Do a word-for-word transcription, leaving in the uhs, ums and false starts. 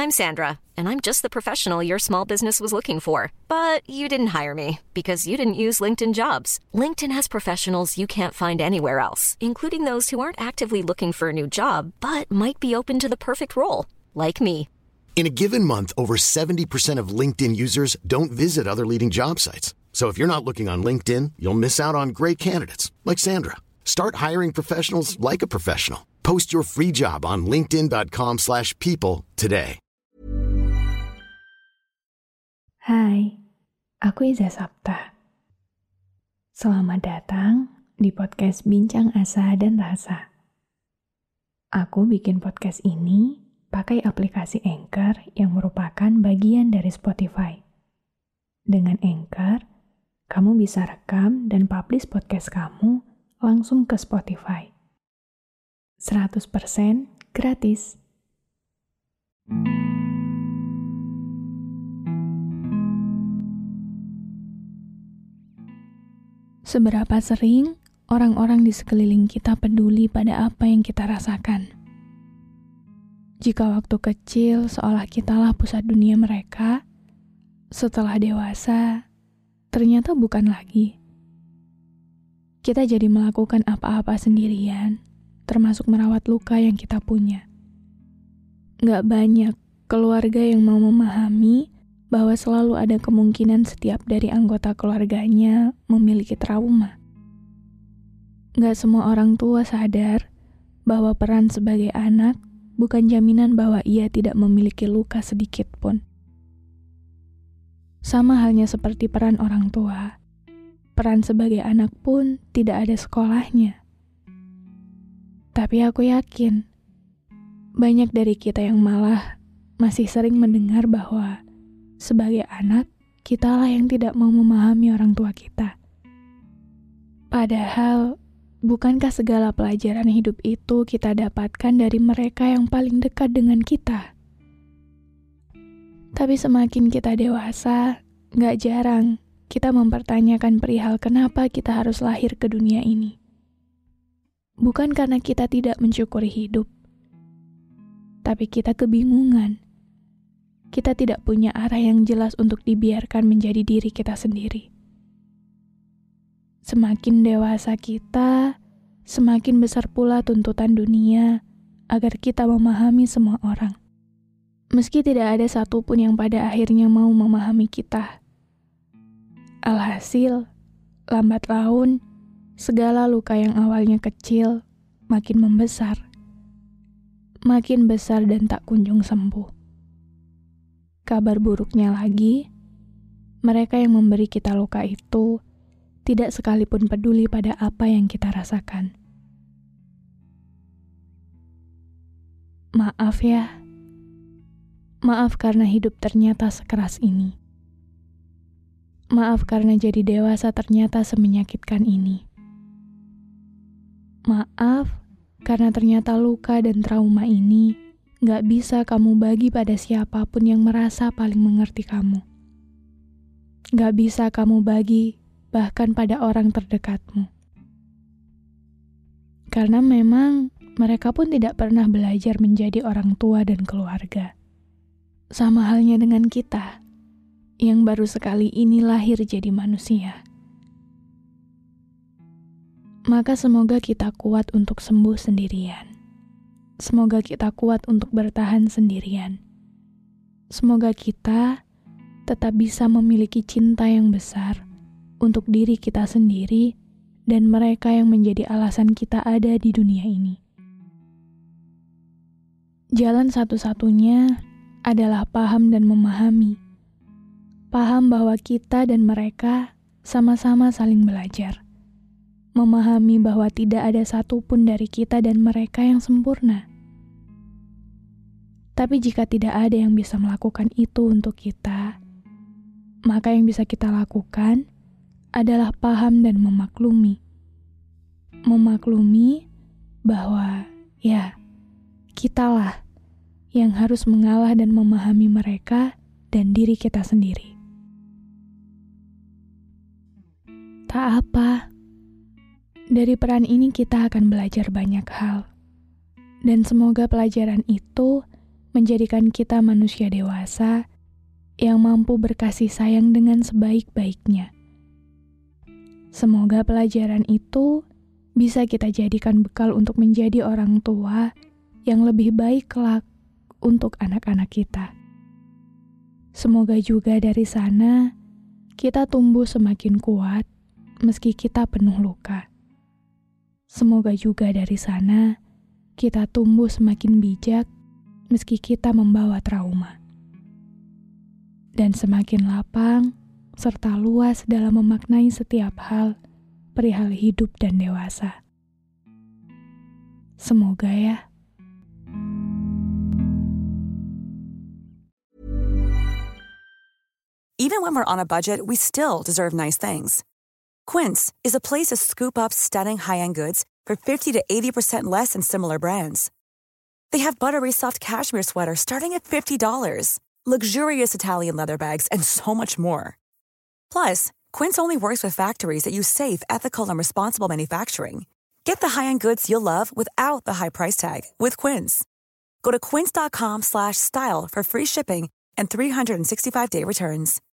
I'm Sandra, and I'm just the professional your small business was looking for. But you didn't hire me because you didn't use LinkedIn Jobs. LinkedIn has professionals you can't find anywhere else, including those who aren't actively looking for a new job, but might be open to the perfect role, like me. In a given month, over seventy percent of LinkedIn users don't visit other leading job sites. So if you're not looking on LinkedIn, you'll miss out on great candidates like Sandra. Start hiring professionals like a professional. Post your free job on linkedin.com slash people today. Hai, aku Iza Sapta. Selamat datang di podcast Bincang Asa dan Rasa. Aku bikin podcast ini pakai aplikasi Anchor yang merupakan bagian dari Spotify. Dengan Anchor, kamu bisa rekam dan publish podcast kamu langsung ke Spotify. seratus persen gratis. Seberapa sering orang-orang di sekeliling kita peduli pada apa yang kita rasakan? Jika waktu kecil seolah kitalah pusat dunia mereka, setelah dewasa, ternyata bukan lagi. Kita jadi melakukan apa-apa sendirian, termasuk merawat luka yang kita punya. Gak banyak keluarga yang mau memahami bahwa selalu ada kemungkinan setiap dari anggota keluarganya memiliki trauma. Gak semua orang tua sadar bahwa peran sebagai anak bukan jaminan bahwa ia tidak memiliki luka sedikit pun. Sama halnya seperti peran orang tua, peran sebagai anak pun tidak ada sekolahnya. Tapi aku yakin, banyak dari kita yang malah masih sering mendengar bahwa sebagai anak, kitalah yang tidak mau memahami orang tua kita. Padahal, bukankah segala pelajaran hidup itu kita dapatkan dari mereka yang paling dekat dengan kita? Tapi semakin kita dewasa, gak jarang kita mempertanyakan perihal kenapa kita harus lahir ke dunia ini. Bukan karena kita tidak mensyukuri hidup, tapi kita kebingungan. Kita tidak punya arah yang jelas untuk dibiarkan menjadi diri kita sendiri. Semakin dewasa kita, semakin besar pula tuntutan dunia agar kita memahami semua orang. Meski tidak ada satupun yang pada akhirnya mau memahami kita. Alhasil, lambat laun, segala luka yang awalnya kecil makin membesar. Makin besar dan tak kunjung sembuh. Kabar buruknya lagi, mereka yang memberi kita luka itu tidak sekalipun peduli pada apa yang kita rasakan. Maaf ya. Maaf karena hidup ternyata sekeras ini. Maaf karena jadi dewasa ternyata semenyakitkan ini. Maaf karena ternyata luka dan trauma ini gak bisa kamu bagi pada siapapun yang merasa paling mengerti kamu. Gak bisa kamu bagi bahkan pada orang terdekatmu. Karena memang mereka pun tidak pernah belajar menjadi orang tua dan keluarga. Sama halnya dengan kita, yang baru sekali ini lahir jadi manusia. Maka semoga kita kuat untuk sembuh sendirian. Semoga kita kuat untuk bertahan sendirian. Semoga kita tetap bisa memiliki cinta yang besar untuk diri kita sendiri dan mereka yang menjadi alasan kita ada di dunia ini. Jalan satu-satunya adalah paham dan memahami. Paham bahwa kita dan mereka sama-sama saling belajar. Memahami bahwa tidak ada satupun dari kita dan mereka yang sempurna. Tapi jika tidak ada yang bisa melakukan itu untuk kita, maka yang bisa kita lakukan adalah paham dan memaklumi. Memaklumi bahwa, ya, kitalah yang harus mengalah dan memahami mereka dan diri kita sendiri. Tak apa, dari peran ini kita akan belajar banyak hal. Dan semoga pelajaran itu menjadikan kita manusia dewasa yang mampu berkasih sayang dengan sebaik-baiknya. Semoga pelajaran itu bisa kita jadikan bekal untuk menjadi orang tua yang lebih baik kelak untuk anak-anak kita. Semoga juga dari sana kita tumbuh semakin kuat meski kita penuh luka. Semoga juga dari sana kita tumbuh semakin bijak meski kita membawa trauma. Dan semakin lapang serta luas dalam memaknai setiap hal perihal hidup dan dewasa. Semoga ya. Even when we're on a budget, we still deserve nice things. Quince is a place to scoop up stunning high-end goods for fifty to eighty percent less than similar brands. They have buttery soft cashmere sweaters starting at fifty dollars, luxurious Italian leather bags, and so much more. Plus, Quince only works with factories that use safe, ethical, and responsible manufacturing. Get the high-end goods you'll love without the high price tag with Quince. Go to quince.com slash style for free shipping and three sixty-five day returns.